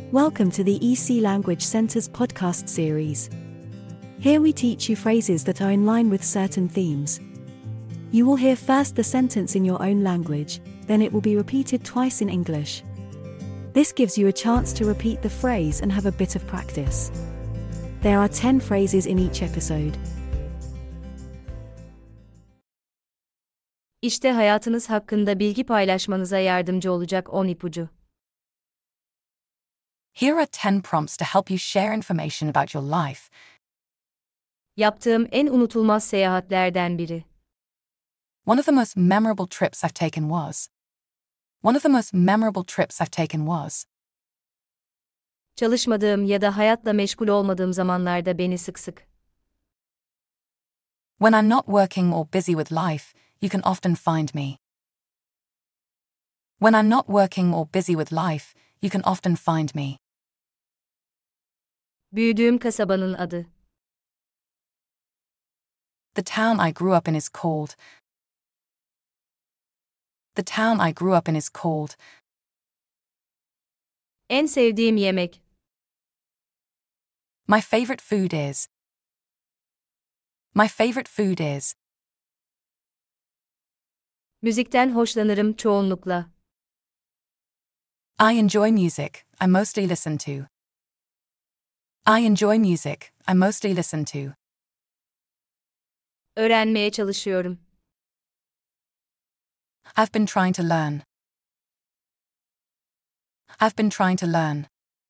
Welcome to the EC Language Center's podcast series. Here we teach you phrases that are in line with certain themes. You will hear first the sentence in your own language, then it will be repeated twice in English. This gives you a chance to repeat the phrase and have a bit of practice. There are 10 phrases in each episode. İşte hayatınız hakkında bilgi paylaşmanıza yardımcı olacak 10 ipucu. Here are 10 prompts to help you share information about your life. Yaptığım en unutulmaz seyahatlerden biri. One of the most memorable trips I've taken was. One of the most memorable trips I've taken was. Çalışmadığım ya da hayatla meşgul olmadığım zamanlarda beni sık sık. When I'm not working or busy with life, you can often find me. When I'm not working or busy with life, you can often find me. Büyüdüğüm kasabanın adı. The town I grew up in is called. The town I grew up in is called. En sevdiğim yemek. My favorite food is. My favorite food is. Müzikten hoşlanırım çoğunlukla. I enjoy music, I mostly listen to. I enjoy music, I mostly listen to. Öğrenmeye çalışıyorum. I've been trying to learn. I've been trying to learn.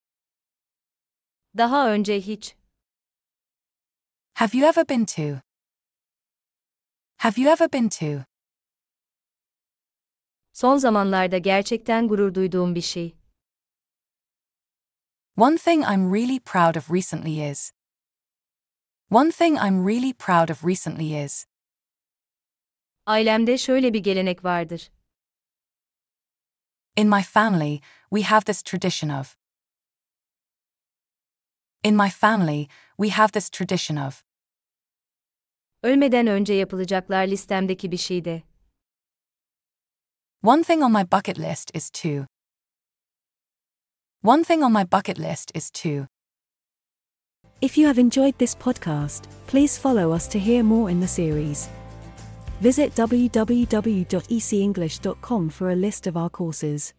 Daha önce hiç. Have you ever been to? Have you ever been to? Son zamanlarda gerçekten gurur duyduğum bir şey. One thing I'm really proud of recently is. One thing I'm really proud of recently is. Ailemde şöyle bir gelenek vardır. In my family, we have this tradition of. In my family, we have this tradition of. Ölmeden önce yapılacaklar listemdeki bir şeydi. One thing on my bucket list is to. One thing on my bucket list is to. If you have enjoyed this podcast, please follow us to hear more in the series. Visit www.ecenglish.com for a list of our courses.